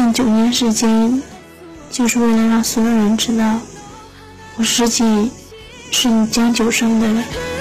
近9年时间，就是为了让所有人知道，我实际是你将就生的人。